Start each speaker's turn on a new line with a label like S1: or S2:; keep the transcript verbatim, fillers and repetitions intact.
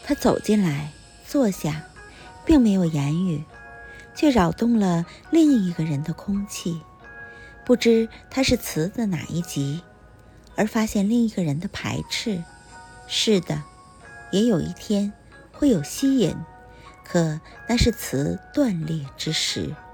S1: 他走进来，坐下，并没有言语，却扰动了另一个人的空气。不知他是词的哪一集，而发现另一个人的排斥。是的，也有一天会有吸引，可那是词断裂之时。